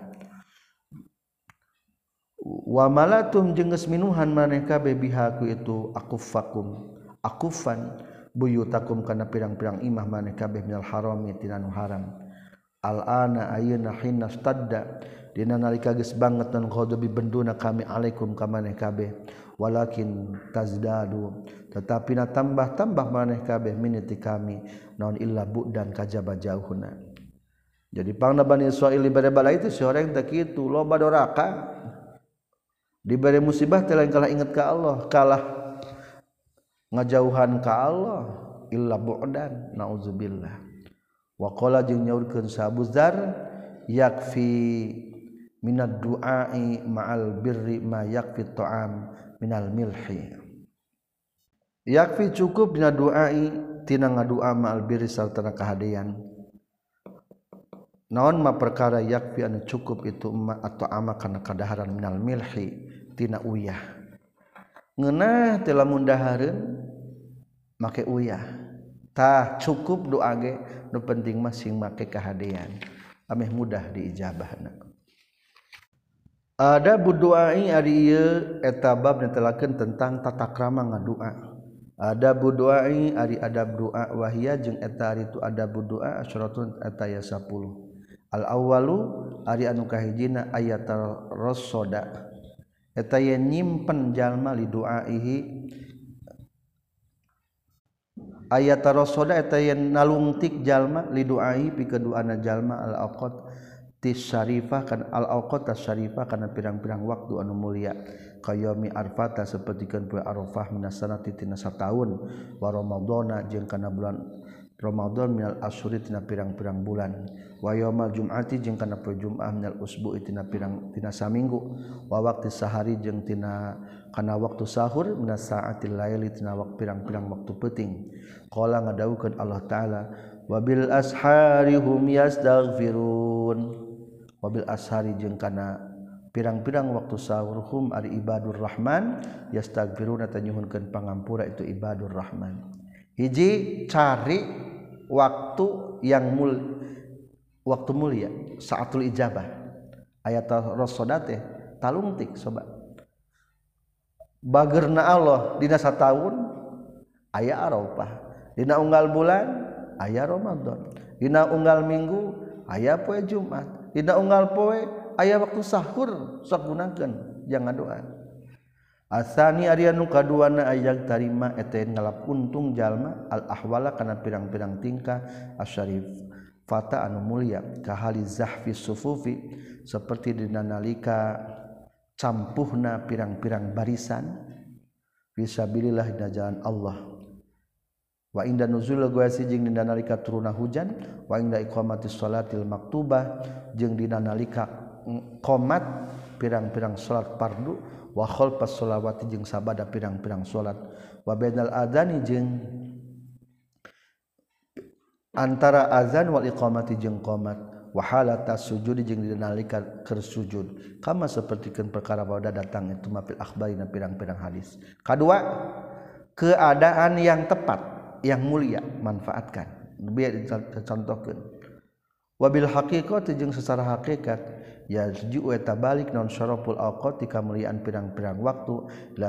wa malatum jeung geus minuhan maraneh kabeh biha ku itu akufakum akufan buyutakum kana pirang-pirang imah maneh kabeh minal harami tina nu haram al-ana ayeuna hina stadda dina nalika geus banget nan ghadabi benduna kami alaikum ka maneh kabeh walakin tazdadu tetapi na tambah-tambah maneh kabeh miniti kami naon illa bu'dan kajaba jauhna jadi pangna Bani Israil dibere bala itu si orang teh kitu loba doraka dibere musibah teh lain kalah inget ka Allah kalah ngajauhan ka Allah illa bu'dan nauzubillah wa qala jeung nyaurkeun sa Abu Dzar yakfi minad du'ai ma'al birri ma yakfi ta'am minal milhi yakfi cukup dina du'ai tina ngadua ma'al birri sartana kahadean naon ma perkara yakfi anu cukup itu ma atau ama kana kadaharan minal milhi tina uyah ngeunah teh lamun dahareun make uyah tah cukup doa ge nu penting mah sing make kahadean ameh mudah diijabahna ada buduai ari ieu eta bab netelakeun tentang tata krama ngadua ada buduai ari adab doa wahia jeung eta ari tu adab doa asyaratun eta aya sepuluh al awwalu ari anu kahijina ayatul rasoda eta ye nyimpen jalma li doaihi ayat rasoda eta yen nalungtik jalma li doai pikeduana jalma al awqat tisyarifah kan al awqat tasyarifah kana pirang-pirang waktu anu mulia qayomi arfata sapertikeun poe arafah minasanati tina sataun wa ramadhana jeung kana bulan Ramadan minal asyuri tina pirang-pirang bulan wa yaumal jum'ati jeung kana poe Jumat minal usbu'i tina pirang tina saminggu wa waqti sahari jeung tina kana waktu sahur minas saatil laili tina wak pirang-pirang waktu peuting qala ngadawukeun Allah taala wabil ashari hum yastaghfirun wabil ashari jeung kana pirang-pirang waktu sahur hum ari ibadur rahman yastaghfiruna ta nyuhunkeun pangampura itu ibadur rahman hiji cari waktu yang mul waktu mulia saatul ijabah ayat rasoda teh talungtik sobat bageurna Allah dina sataun aya arafah dina unggal bulan aya Ramadan dina unggal minggu aya poe Jumat dina unggal poe aya waktu sahur sok gunakeun jangan doa asani ari anu kaduana aya tarima eta ngalap untung jalma al ahwala kana pirang-pirang tingkah asyarif fata anu mulia kahali zahfi sufufi seperti dina nalika campuhna pirang-pirang barisan fisabilillah dina jalan Allah wa inda nuzul guasi jeung dina nalika turuna hujan wa inda iqamatis sholatil maktubah jeung dina nalika qomat pirang-pirang salat fardu wa khalfas sholawati jeung sabada pirang-pirang salat wa bainal adzani jeung antara azan wal iqamati jeung qomat wa halatas sujud jeung dina nalika keur sujud kama sapertikeun perkara bada datang itu mafil akhbarina pirang-pirang hadis kadua keadaan yang tepat yang mulia manfaatkan biar dicontohkeun wabil haqiqati jeung secara hakikat ya ju'u eta balik naon syaraful awqati kamuliaan pirang-pirang waktu la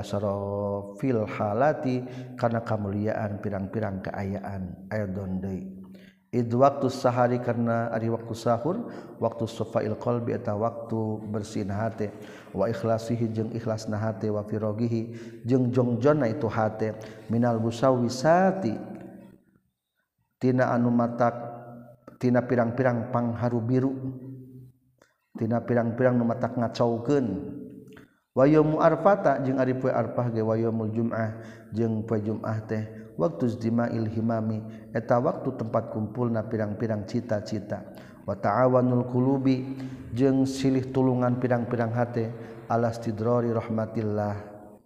syarafil halati kana kamuliaan pirang-pirang keayaan aidon deui id waktu sahari karena ari waktu sahur waktu safail qalbi eta waktu bersihna hate wa ikhlasihi jeung ikhlasna hate wa firogihi jeung jongjonna itu hate minal busawisati tina anu matak tina pirang-pirang pangharu biru tina pirang-pirang nu matak ngacaukeun wa yaumul arfata jeung ari poe arfah ge wa yaumul jum'ah jeung poe jum'ah teh waktu istima'il himami eta waktu tempat kumpulna pirang-pirang cita-cita wa ta'awanul qulubi jeung silih tulungan pirang-pirang hate ala istidrari rahmatillah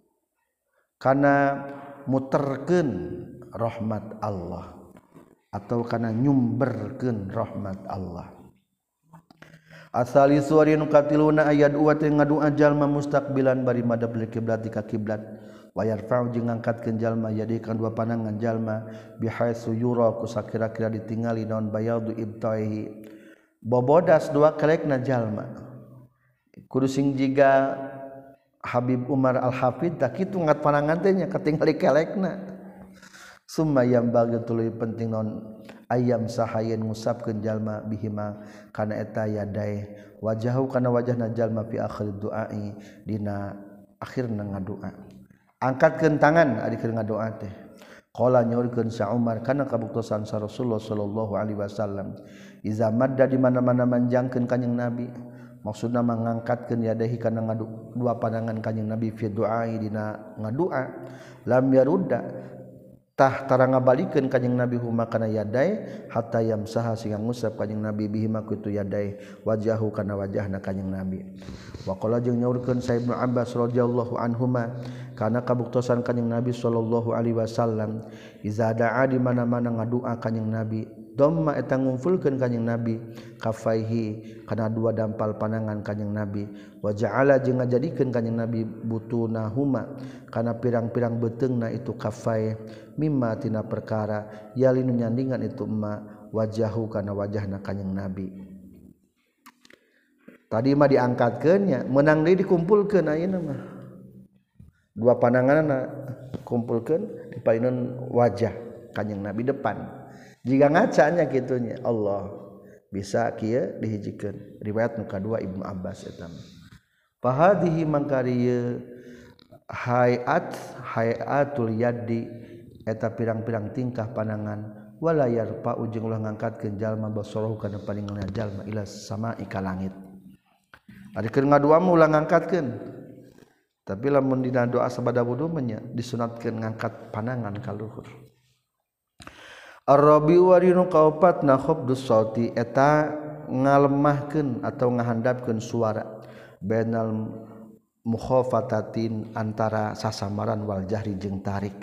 kana muterkeun rahmat Allah atau kana nyumberkeun rahmat Allah. Asali suari nu katiluna ayat dua teh ngadua jalma mustaqbilan bari madab lil kiblat ka kiblat wa yarfa'u jeung ngangkatkeun jalma yadi kan dua pandangan jalma bihaitsu yura ku sakira-kira ditingali naon bayadu ibtaihi bobodas dua kelekna jalma kudu sing jiga Habib Umar Al-Hafid tak kitu ngat pandangan teh nya katingali kelekna summa yang bagi tuluy penting naon ayam sahayen ngusapkeun jalma bihima kana eta yadae wajahu kana wajahna jalma fi akhir du'ai dina akhirna ngadua angkatkeun tangan ari keur ngadoa teh qala nyaurkeun sa Umar kana kabuktosan sa Rasulullah sallallahu alaihi wasallam iza madda di mana-mana manjangkeun kanjing Nabi maksudna mangangkatkeun yadahi kana ngadu dua pandangan kanjing Nabi fi du'ai dina ngadua lam yarudda tah tara ngabalikeun kanjing Nabi huma kana yadai hatta yamsaha sing ngusap kanjing Nabi bihi makutu yadai wajahu kana wajahna kanjing Nabi wa qala jeung nyaurkeun sa Ibnu Abbas radhiyallahu anhuma kana kabuktosan kanjing Nabi sallallahu alaihi wasallam iza da'a di mana-mana ngadua kanjing Nabi dhamma eta ngumpulkeun kanjing Nabi kafaihi kana dua dampal panangan kanjing Nabi wa ja'ala jeung ngajadikeun kanjing Nabi butunahuma kana pirang-pirang beteungna itu kafai mimma tina perkara yalinu nyandingan itu emma wajahu kana wajahna kanjing Nabi tadi mah diangkatkeun nya meunang deui dikumpulkeun ayeuna mah dua pandanganna kumpulkeun dipaeun wajah kanjing Nabi depan jika ngacanya kitunya Allah bisa kieu dihijikeun riwayat nu kadua Ibnu Abbas eta fahadihi mangkarieu hayat hayatul yaddi eta pirang-pirang tingkah pandangan wala yarfa ujung ulah ngangkatkeun jalma basarahu kana paningalna jalma ila sama'i ka langit ari keur ngadua mah ulah ngangkatkeun tapi lamun dina doa sabada wudu nya disunatkeun ngangkat pandangan ka luhur Ar-Rabi warinu kaopatna khafdus sauti eta ngalemahkeun atau ngahandapkeun suara bainal mukhafatatin antara sasamaran wal jahri jeung tarik.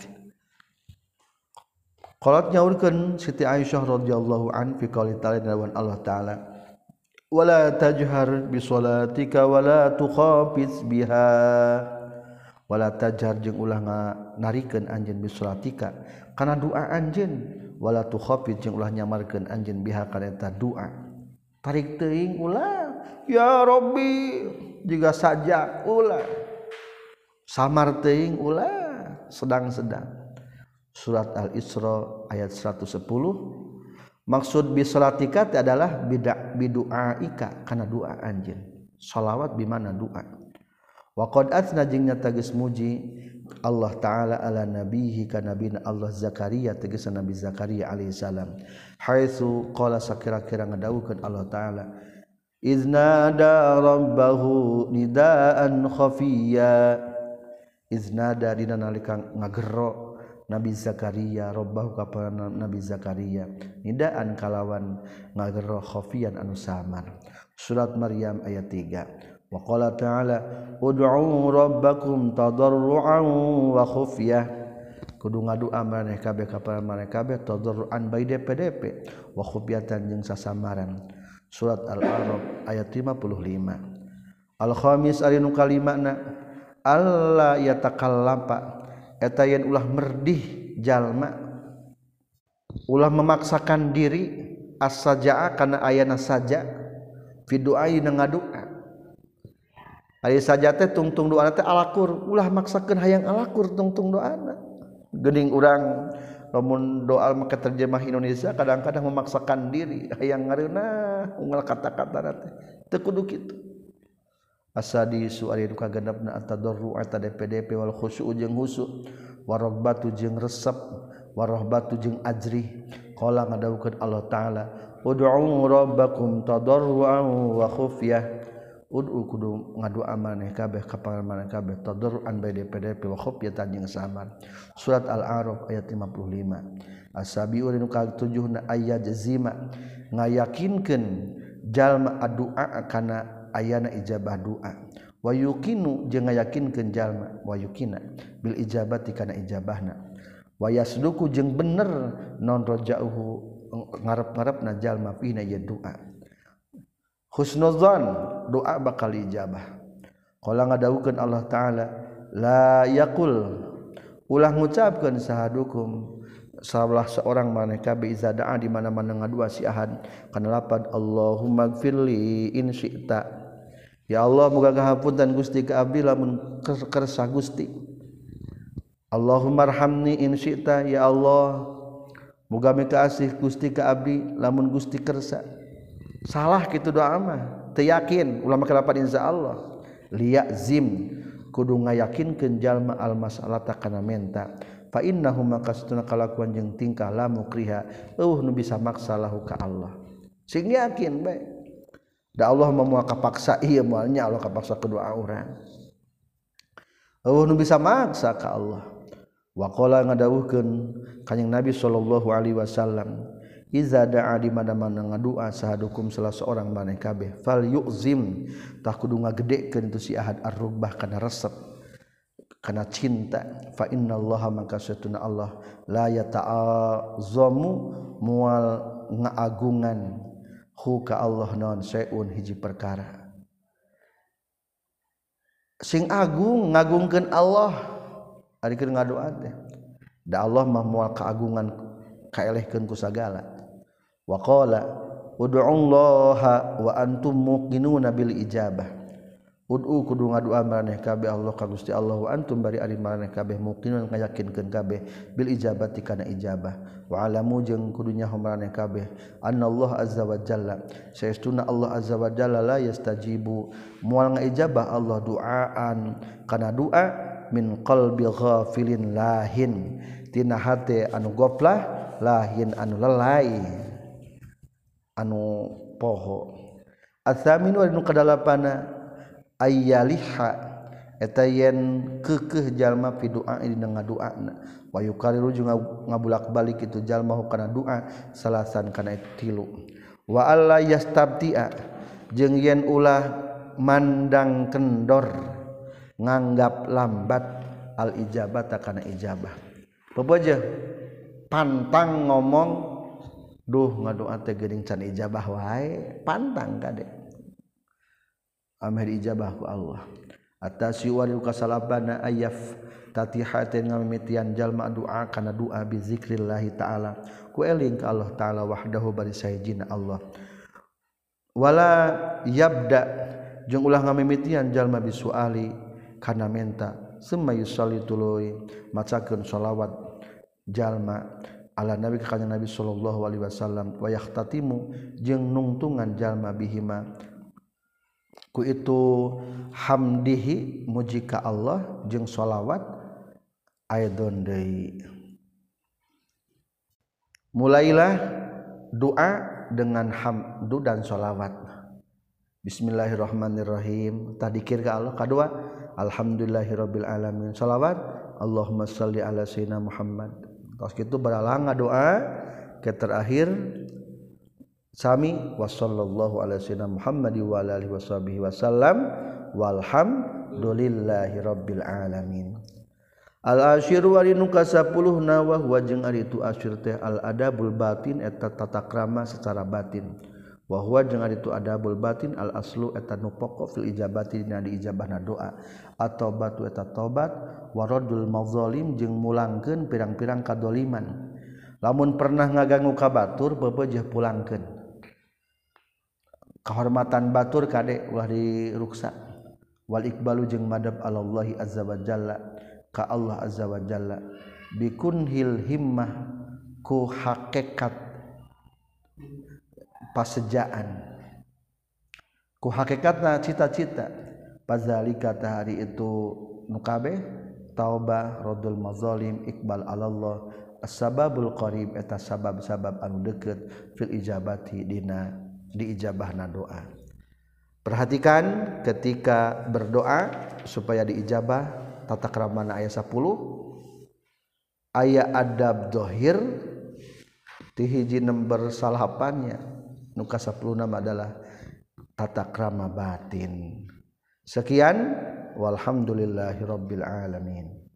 Qalat nyaurkeun Siti Aisyah radhiyallahu an fi qouli ta'ala dawan Allah taala wala tajhar bi sholatika wala tukhafis biha wala tajhar jeung ulah narikeun anjeun bi sholatika kana doa anjeun wala tukhafid jeung ulah nyamarkeun anjeun biha kana eta doa tarik teuing ulah ya Rabbi jiga saja ulah samar teuing ulah sedang-sedang surat Al-Isra ayat seratus sepuluh maksud bi salatika adalah bidak biduaika kana doa anjeun shalawat bi mana doa wa qad atsna jeung nyata geus muji Allah taala ala nabihi kana nabina Allah Zakaria tegasna Nabi Zakaria alaihi salam haitsu qala sakira-kira ngadawukeun Allah taala iznada rabbahu nidaan khafiyya iznada dina nalika ngagero Nabi Zakaria rabbahu ka Nabi Zakaria nidaan kalawan ngagero khafiyan anu samar surat Maryam ayat tiga wa qala ta'ala ud'u rabbakum tadarruan wa khufyah kudu ngadoa maneh kabeh ka maneh kabeh tadarruan bae D P D P wa khufyatan jeung sasamaran surat Al-A'raf ayat lima puluh lima al-khamis ari nu kalimana alla yatakallapa eta yen ulah merdih jalma ulah memaksakan diri as-sajaa kana ayana saja fi du'a ngadoa ari saja teh tungtung doana teh alakur ulah maksakeun hayang alakur tungtung doana geuning urang lamun doa maka terjemah Indonesia kadang-kadang memaksakan diri hayang ngareuna unggal kata-kata teh teu kudu kitu asadisu ari nu kagenepna at-tadarru ata D P D P wal khusyuk jeung khusyuk waraghbatu jeung resep warahbatu jeung ajri qala ngadawukeun Allah taala ud'u rabbakum tadarruan wa khufyah ud'u kudu ngadoa maneh kabeh ka pangaran maneh kabeh tadarruan bae D P D P wa khufyatan jeung samar surat al-a'raf ayat lima puluh lima asabiu nu katujuhna ayat jazima ngayakinkeun jalma addu'a kana ayana ijabah doa wa yuqinu jeung ngayakinkeun jalma wa yuqina bil ijabati kana ijabahna wa yasduku jeung bener non rajauhu ngarep-ngarepna jalma fina ya doa husnuzan doa bakal ijabah qala ngadawukeun Allah taala la yaqul ulah ngucapkeun sahadukum salah seorang maneh kabeh iza da'a di mana-mana ngadua si ahad kana lapad Allahumma gfirli in syi'ta ya Allah muga ngahapunten Gusti ka abdi lamun kersa Gusti Allahumma arhamni in syi'ta ya Allah muga mikaasih Gusti ka abdi lamun Gusti kersa salah kitu doa mah teu yakin ulah make lapan insyaallah liyazim kudu ngayakinkeun jalma al mas'alata kana menta fa innahu makastuna kalakuan jeung tingkah la mukriha eueuh nu bisa maksa lahu ka Allah sing yakin bae da Allah moal kapaksa ieu moal nya Allah kapaksa ku doa urang eueuh nu bisa maksa ka Allah wa qala ngadawuhkeun kanjing Nabi sallallahu alaihi wasallam iza da'a di mana-mana ngadua sahadukum salah seorang maneh kabeh fal yu'zim tah kudu ngagedekeun itu si ahad ar-rugbah kana resep kana cinta fa innallaha maka satuna Allah la yata'azzamu mual ngaagungan hu ka Allah naon saeun hiji perkara sing agung ngagungkeun Allah ari keur ngadoa teh da Allah mah moal kaagungan kaelehkeun ku sagala wa qala ud'ullaha wa antum muqinuna bil ijabah ud'u kudu ngadoa maneh kabeh Allah ka Gusti Allah wa antum bari ari maneh kabeh muqinun ngayakinkeun kabeh bil ijabati kana ijabah wa alamu jeung kudu nyaho maneh kabeh annallahu azza wa jalla saestuna Allah azza wa jalla la yastajibu moal ngaijabah Allah duaan kana doa min qalbi ghafilin lahin tina hate anu goflah lahin anu lalai anu poho atsaminu anu kadalapana ayyaliha eta yen keukeuh jalma fi doa dina ngadoana wa yukariru jeung ngabulak-balik itu jalma kana doa salasan kana tilu wa alla yastabti'a jeung yen ulah mandang kendor nganggap lambat al ijabata kana ijabah baboja pantang ngomong duh ngadoa teh geuning can ijabah wae pantang kade ameh ijabah ku Allah atasi wali kasalabana ayaf tatihatin ngamimitian jalma doa kana doa bi zikrillah taala ku eling ka Allah taala wahdahu bari sahijina Allah wala yabda jeung ulah ngamimitian jalma bisuali kana menta summa yusalli tuluy macakeun shalawat jalma ala nabi ka Nabi sallallahu alaihi wasallam wa yahtatimu jeung nungtungan jalma bihima ku itu hamdihi muji ka Allah jeung shalawat aidon deui mulailah doa dengan hamdu dan shalawat bismillahirrahmanirrahim tadikir ka Allah kadua alhamdulillahirabbil alamin shalawat Allahumma shalli ala sayyidina Muhammad tos kitu baralang doa ke terakhir sami wa sallallahu ala sayyidina Muhammad wa ala alihi washabihi wasallam walhamdulillahirabbil alamin al asyiru wa nu kasapuluh na wa huwa jeung ari itu asyir teh al adabul batin eta tata krama secara batin wa huwa jeung ari itu adabul batin al aslu eta nu pokok fil ijabati dina di ijabahna doa atau batu eta tobat waradul mazalim jeung mulangkeun pirang-pirang kadoliman lamun pernah ngaganggu ka batur bebeujeuh pulangkeun kahormatan batur kade ulah diruksa wal iqbalu jeung madab alallahi azza wa jalla ka Allah azza wa jalla bikunhil himmah ku hakikat pasejaan ku hakikatna cita-cita pazalika hari itu nukabe taubah rodul mazalim iqbal alallah as-sababul qarib eta sabab-sabab anu deukeut fil ijabati dina diijabahna doa. Perhatikan ketika berdoa supaya diijabah tata kramana ayat sepuluh aya adab dohir ti hiji nember salapannya nu ka sepuluh nama adalah tata krama batin. Sekian walhamdulillahirabbil alamin.